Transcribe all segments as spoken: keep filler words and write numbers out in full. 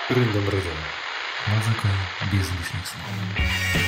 Рындом-рындом. Музыка без лишних слов.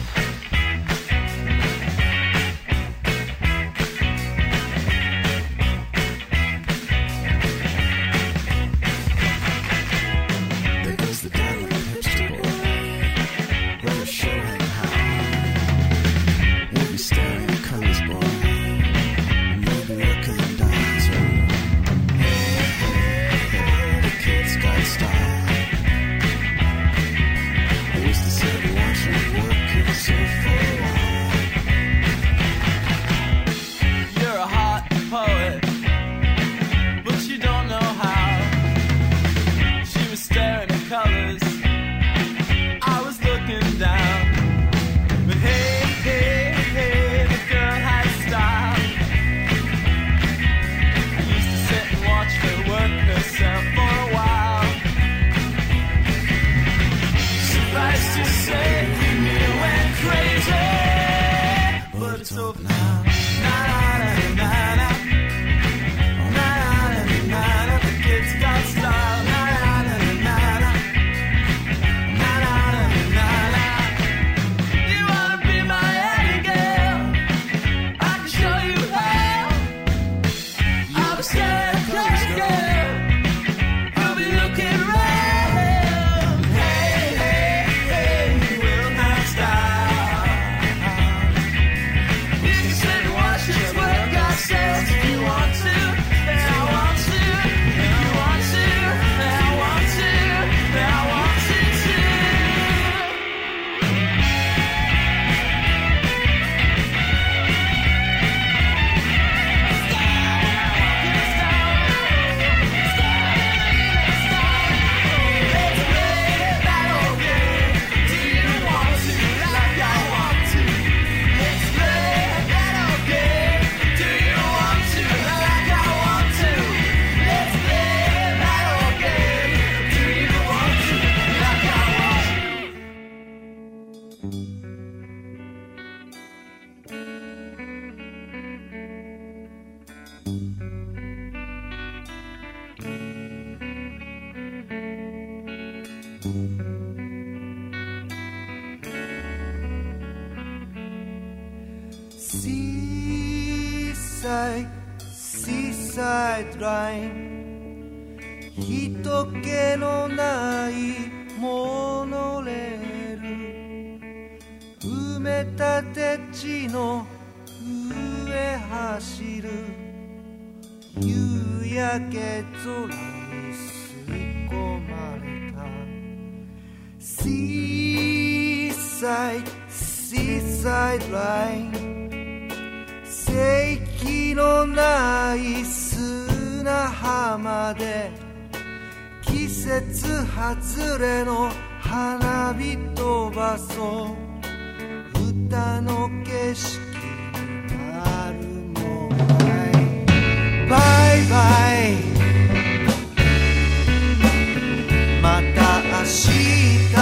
Seaside, seaside line 人気のないモノレール埋め立て地の上走る夕焼け空に吸い込まれた Seaside, seaside line世紀のない砂浜で季節外れの花火飛ばそう歌の景色になるもないバイバイまた明日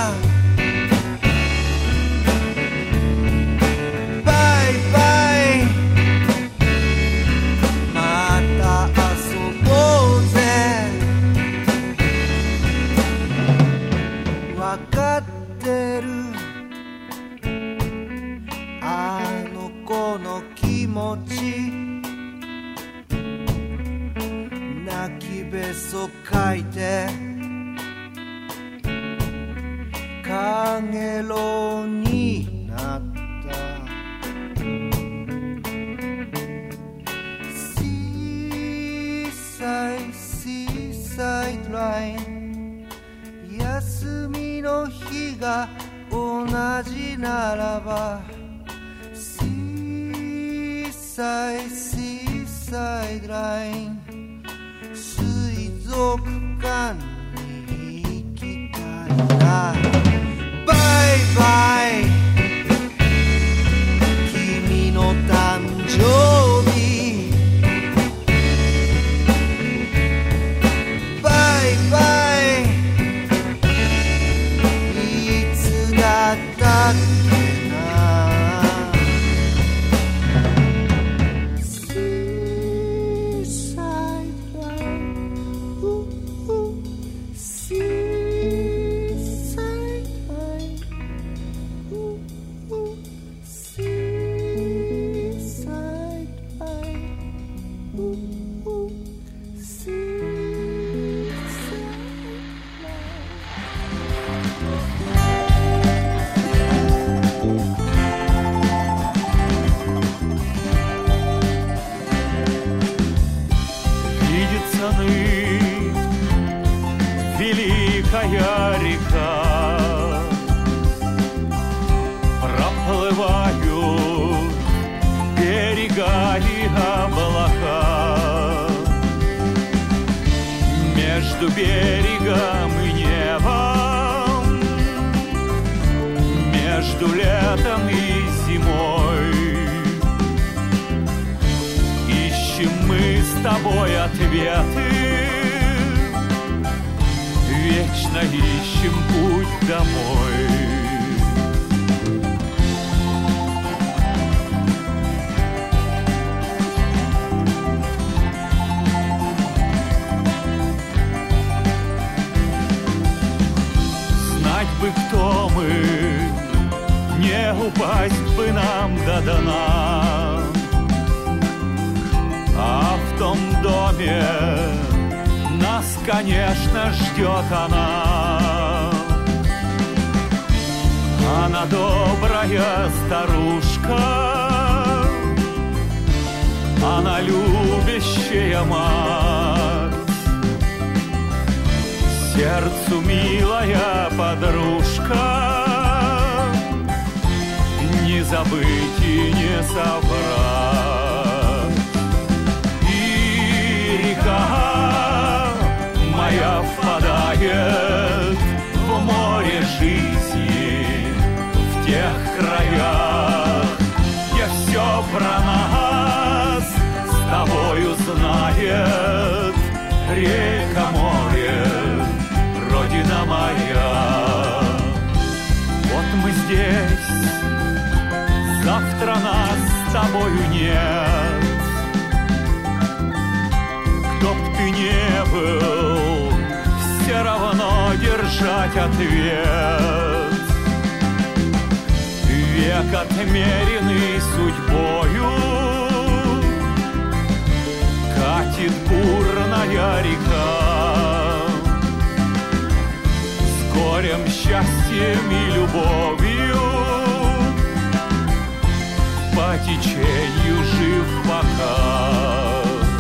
泣きべそかいてかげろうになった Seaside, seaside line 休みの日が同じならば Seaside, seaside line 水族館に行きたいなバイバイ君の誕生日バイバイいつだったっけなSeaside line Seaside Великая река, проплывают берега и облака. Между берегом и небом, между летом и зимой ищем мы с тобой ответы. Вечно ищем путь домой. Знать бы, кто мы, не упасть бы нам до дна. А в том доме нас, конечно, ждет она. Она добрая старушка, она любящая мать, сердцу милая подружка, не забыть и не соврать. И река моя впадает в море жизни, в тех краях, где все про нас с тобою знает. Река, море, родина моя. Вот мы здесь, завтра нас с тобою нет. Кто б ты не был, все равно держать ответ. Век отмеренный судьбою, катит бурная река. С горем, счастьем и любовью по течению жив пока.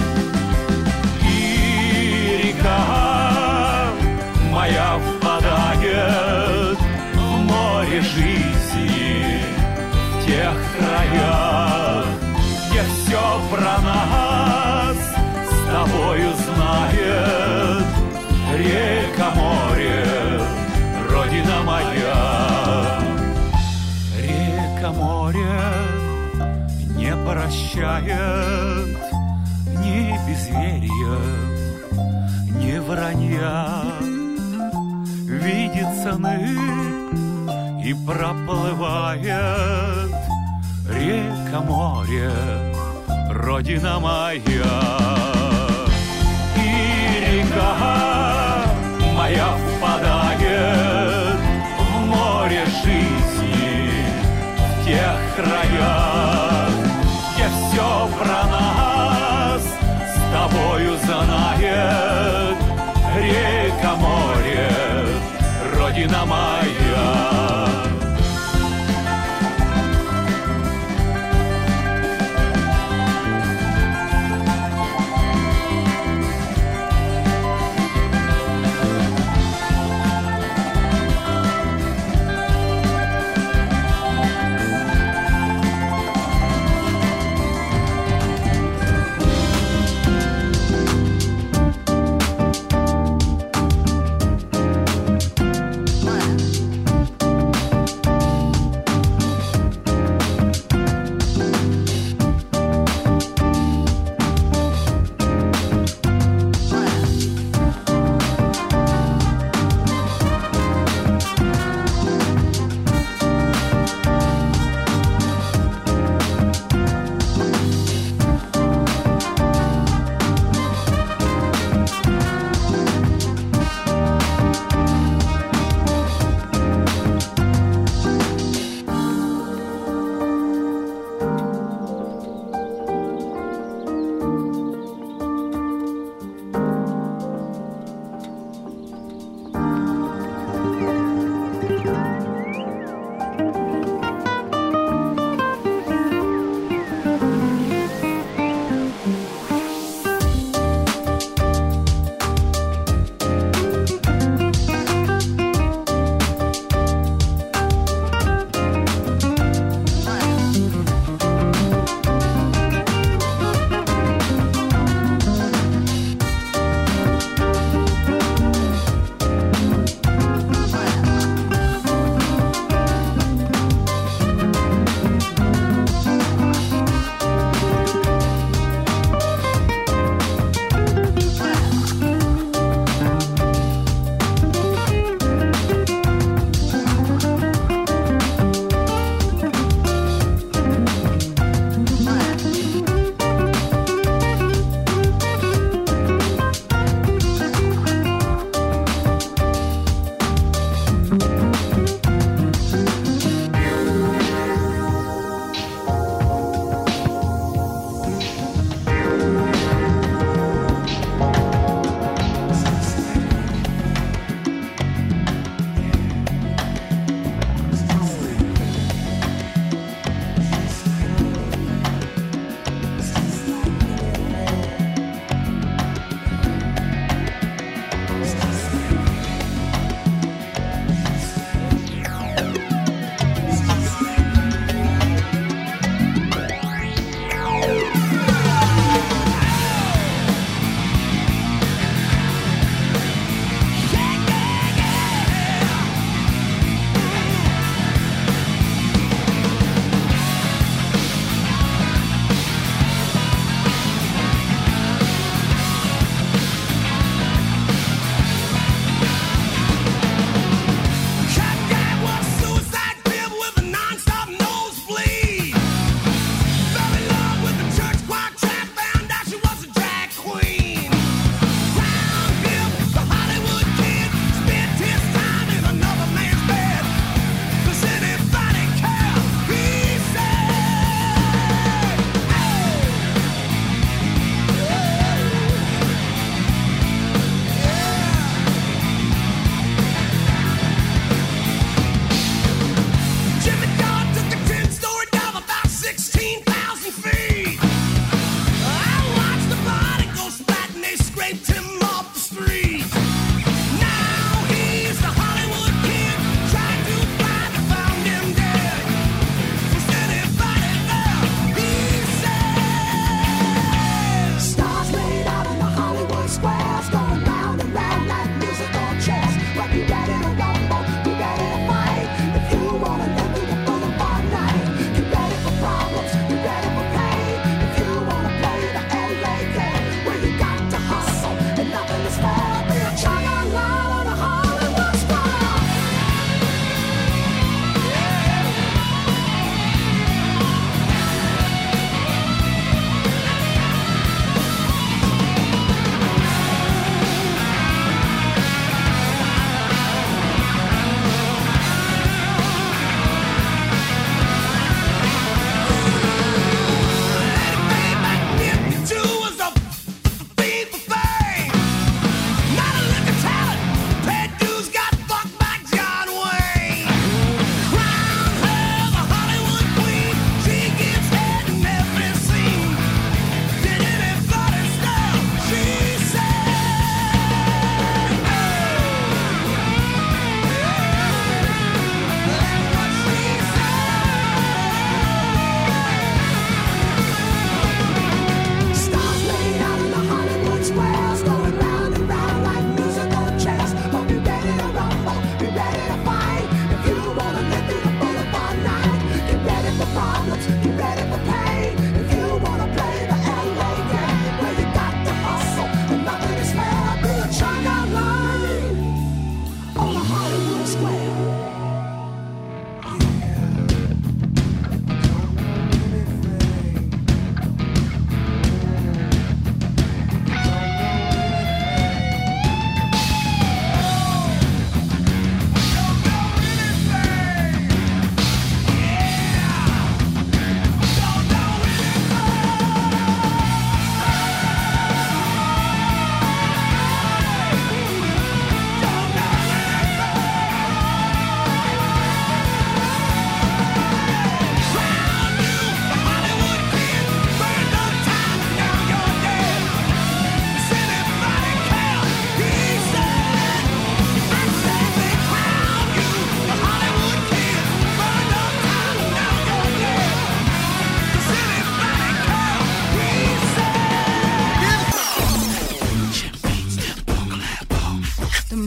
И река моя впадает в море жизни, в тех краях, где все про нас с тобою знает. Река, море, родина моя. Река, море не прощает ни безверия, ни вранья. Видит сны и проплывает. Река, море, родина моя. И река моя впадает в море жизни, в тех краях, где все про нас с тобою знает. Река, море, родина моя. One.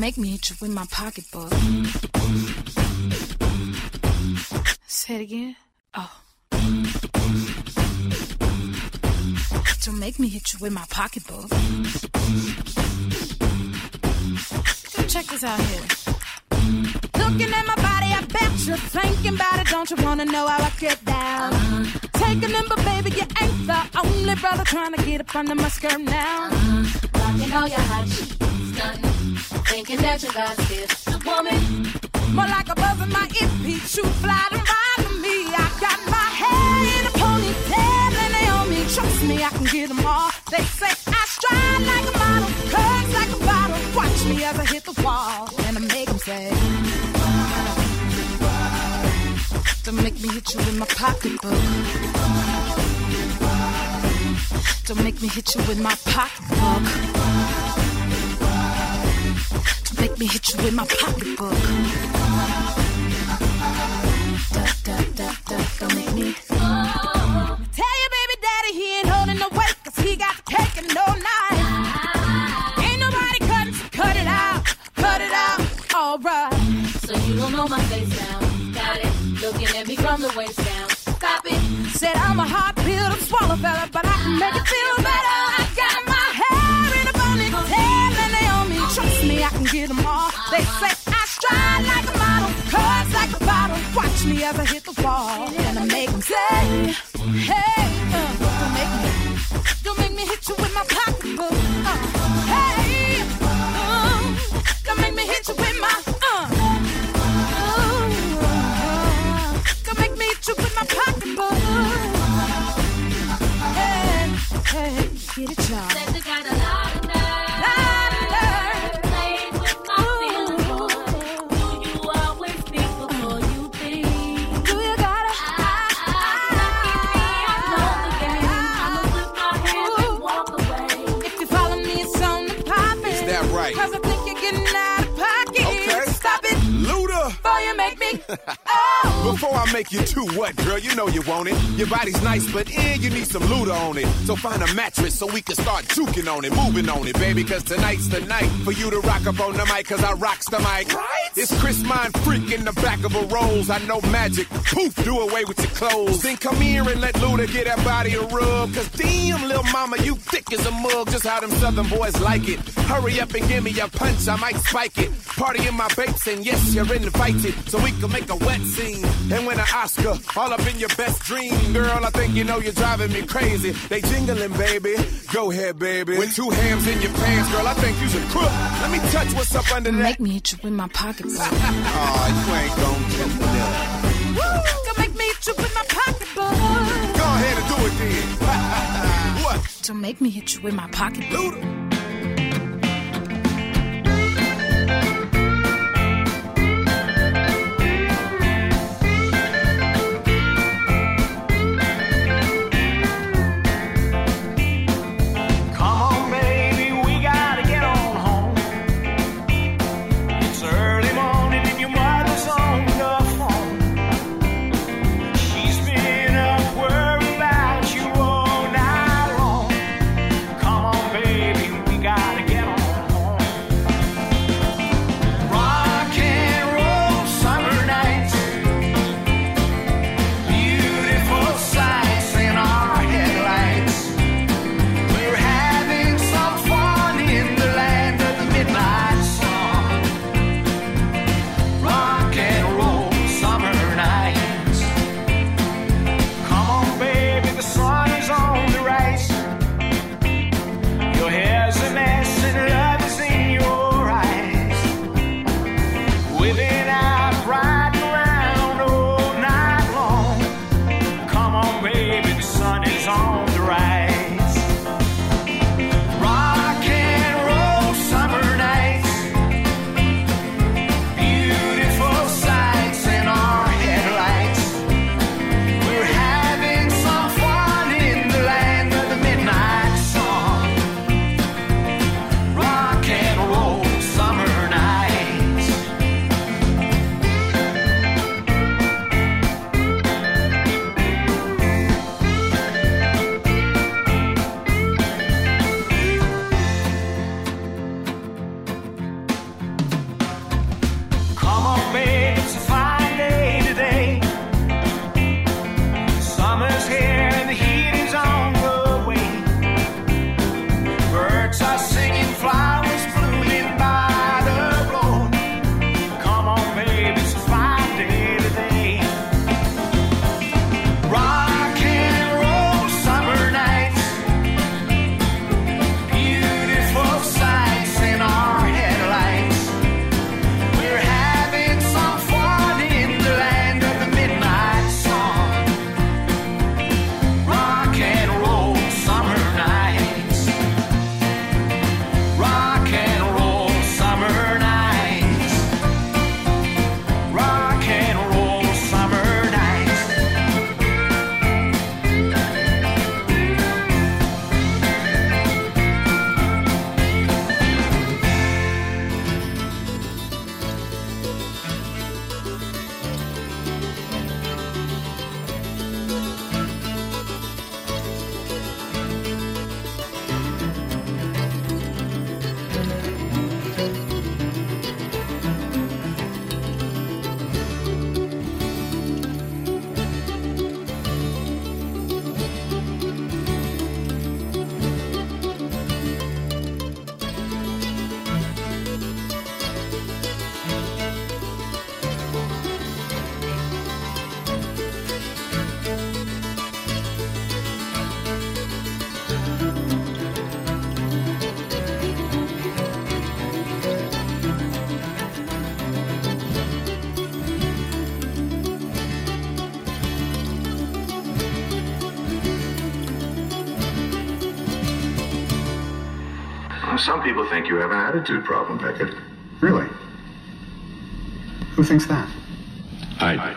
make me hit you with my pocketbook. Say it again. Oh. Don't make me hit you with my pocketbook. Go check this out here. Looking at my body, I bet you're thinking about it. Don't you wanna know how I get down? Uh-huh. Take a number, baby, you ain't the only brother trying to get up under my skirt now. Uh-huh. Rocking all your hot shit, stunting, thinking that you got this woman. More like a buzz in my earpiece, shoot fly and ride to me. I got my hair in a ponytail and they on me. Trust me, I can get them all. They say I stride like a model, curves like a bottle. Watch me as I hit the wall and I make them say, don't make me hit you with my pocketbook. Don't make me hit you with my pocketbook. Don't make me hit you with my pocketbook. Da, da, da, da, don't make me. Tell your baby daddy he ain't holding no weight, cause he got the cake and no knife. Ain't nobody cutting, so cut it out, cut it out, alright. So you don't know my face now, got it, looking at me from the waist down. Stop it. Said I'm a hard pill to swallow, fella, but I can make it feel better. I got my hair in a ponytail and they on me. Trust me, I can get them all. They say I stride like a model, curves like a bottle. Watch me as I hit the wall and I make them say, hey, uh, don't make me, don't make me hit you with my pocketbook. Uh, hey, uh, don't make me hit you with my, uh, uh, don't make me hit you with my pocketbook. Hey, hey, get it, y'all. Said you got a lot of nerve. Lot of nerve. Playing with my feelings, boy. Do you always think before you think? Do you gotta? If you follow me, it's on the poppin'. Is that right? Cause I think you're getting out of pocket. Okay. Stop it. Luda! Before you make me. Oh. Before I make you too what, girl? You know you want it. Your body's nice, but eh, you need some Luda on it. So find a mattress so we can start juking on it, moving on it, baby. Cause tonight's the night for you to rock up on the mic, cause I rocks the mic. Right? It's Chris Mind Freak in the back of a Rolls. I know magic. Poof, do away with your clothes. Then come here and let Luda get that body a rub. Cause damn, little mama, you thick as a mug. Just how them southern boys like it. Hurry up and give me a punch, I might spike it. Party in my babes, and yes, you're invited. So we can make a wet scene and win an Oscar. All up in your best dream, girl. I think you know you're driving me crazy. They jingling, baby. Go ahead, baby. With two hams in your pants, girl, I think you's a crook. Let me touch what's up under that. Make me hit you with my pocketbook. Aw, oh, you ain't gon' do that. Woo! Don't make me hit you with my pocketbook. Go ahead and do it then. What? Don't make me hit you with my pocketbook. Luda. Baby, some people think you have an attitude problem, Beckett. Really? Who thinks that? I do.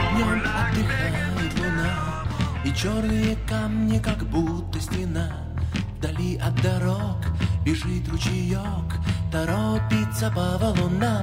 Днем отдыхает луна, и черные камни, как будто стена. Вдали от дорог бежит ручеек, торопится по валунам.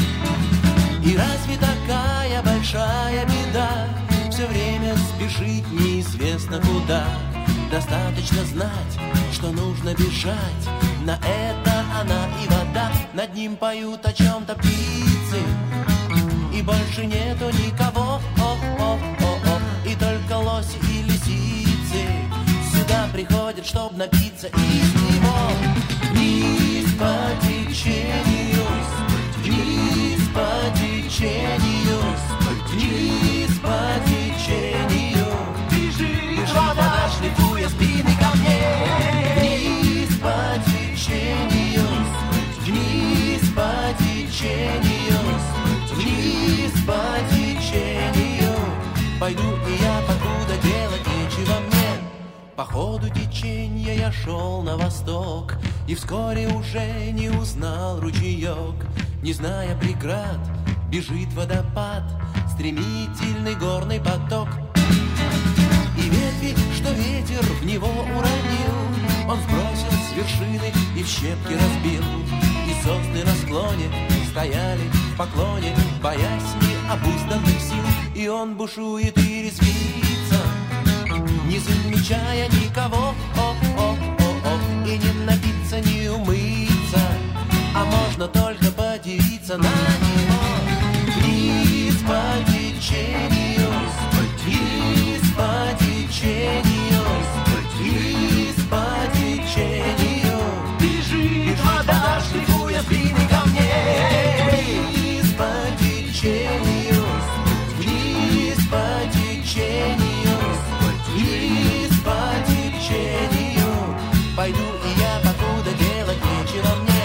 И разве такая большая беда все время спешить неизвестно куда? Достаточно знать, что нужно бежать, на это она и вода. Над ним поют о чем-то птицы, и больше нету никого, о-о-о-о. И только лоси и лисицы сюда приходят, чтоб напиться из него. Вниз по течению, вниз по течению, вниз по течению. Бежит вода, шлифуя спины камней. Вниз по течению, вниз по течению, вниз по течению. Пойду и я, покуда делать нечего мне. По ходу течения я шел на восток, и вскоре уже не узнал ручеек. Не зная преград, бежит водопад, стремительный горный поток. И ветви, что ветер в него уронил, он сбросил с вершины и в щепки разбил. И сосны на склоне стояли в поклоне, боясь необузданных сил. И он бушует и резвится, не замечая никого, о-о-о-о. И не напиться, не умыться, а можно только подивиться на него. Вниз по течению, вниз по течению, вниз по течению. Бежит вода, шлифуя спины камней. Вниз по течению, вниз по течению, вниз по течению. Пойду и я, покуда делать нечего мне.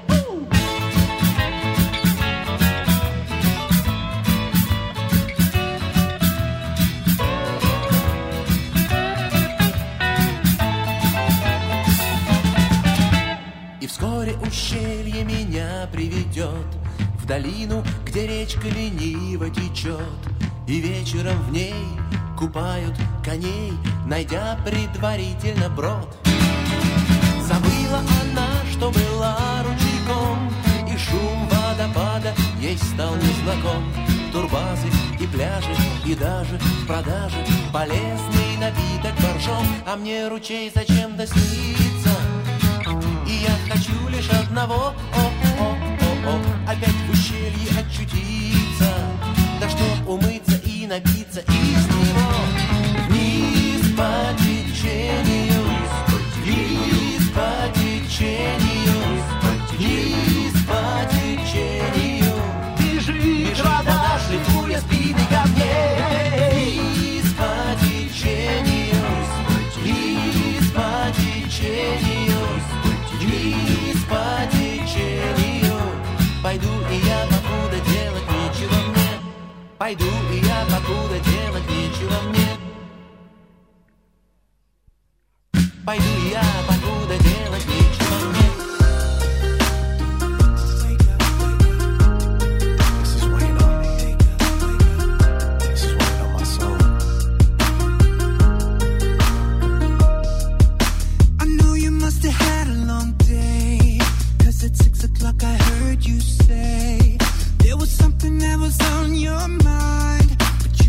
И вскоре ущелье меня приведет в долину, где речка лениво течет. И вечером в ней купают коней, найдя предварительно брод. Забыла она, что была ручейком, и шум водопада ей стал незнаком. Турбазы и пляжи, и даже в продаже полезный напиток боржом. А мне ручей зачем-то снится, и я хочу лишь одного, о-о-о-о, опять в ущелье очутиться, да чтоб умыться и напиться из него. Вниз по течению, вниз по течению, вниз по течению. Бежит вода, шлифуя спины камней. Вниз по течению, вниз по течению, вниз по течению. Пойду и я, покуда делать нечего мне. Пойду и я, покуда делать нечего мне. Пойду и я, покуда делать нечего мне.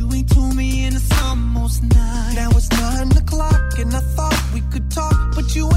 Now it's nine o'clock and I thought we could talk, but you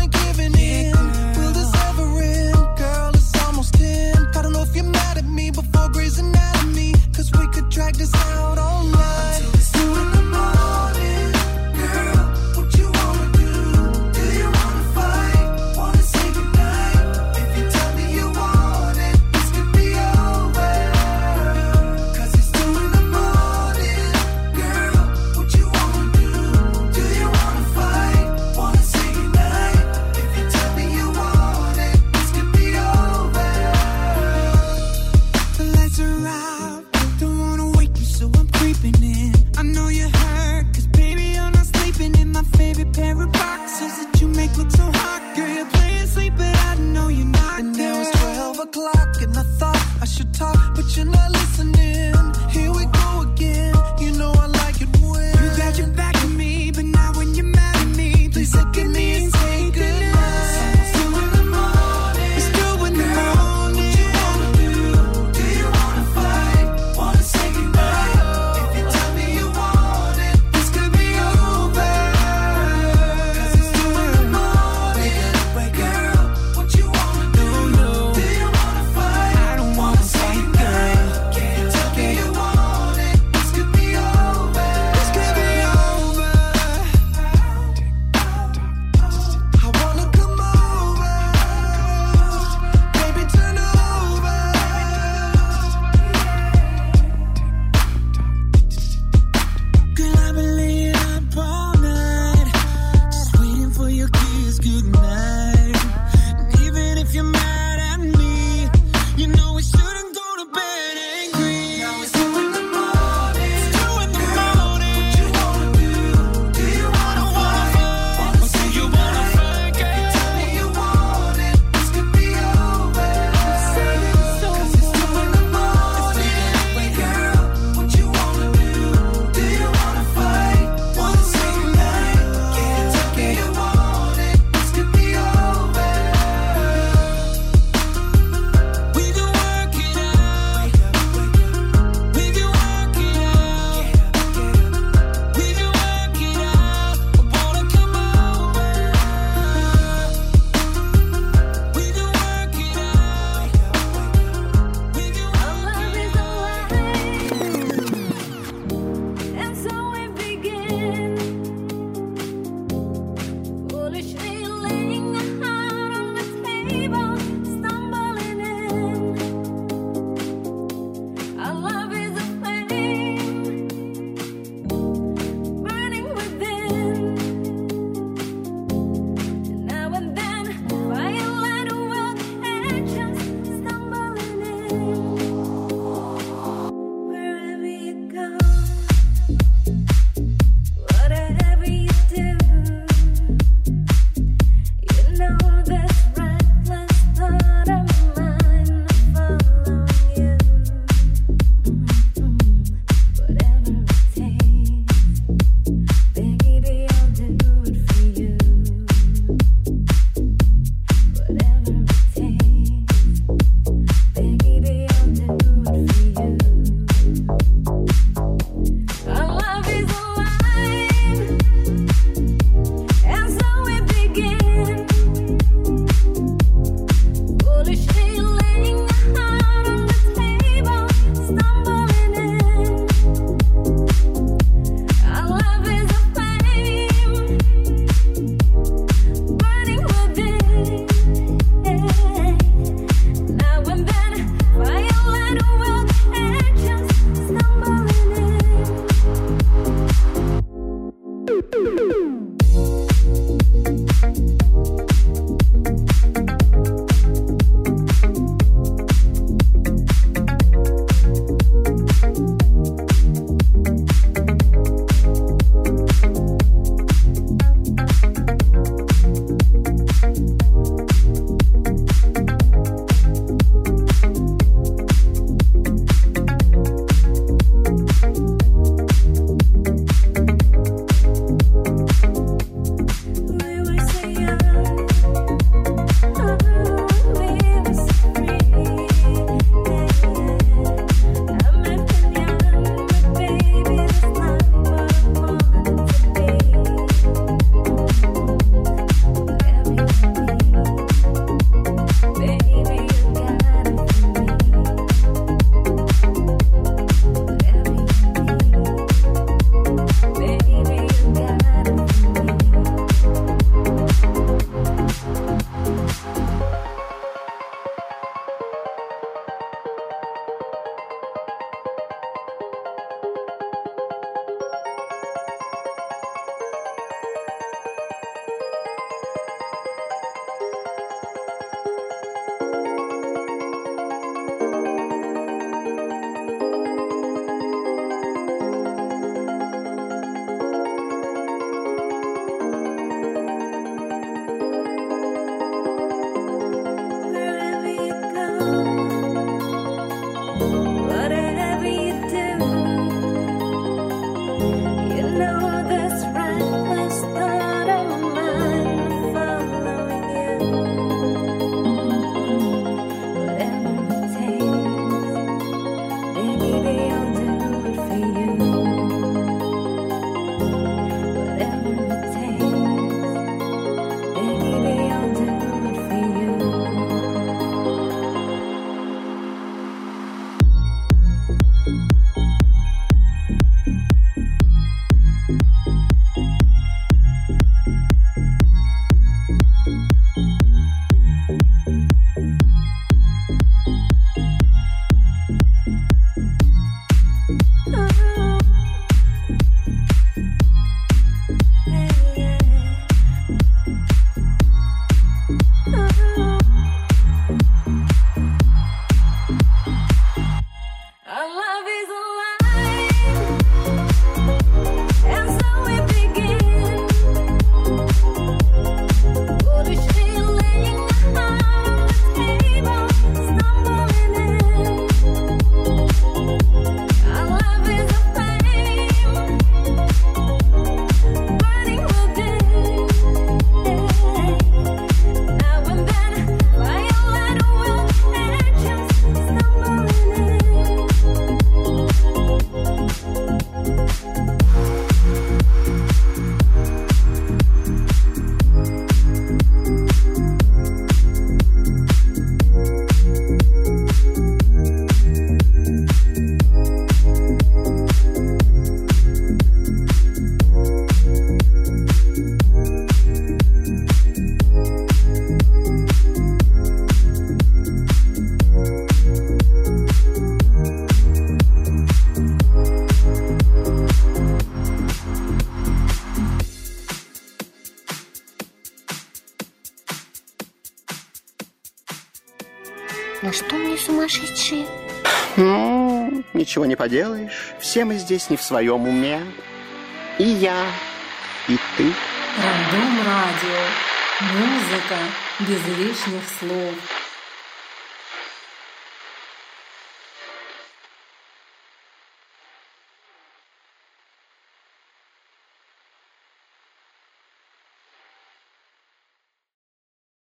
сумасшедшие. Ну, ничего не поделаешь. Все мы здесь не в своем уме. И я, и ты. Рандом радио. Музыка без лишних слов.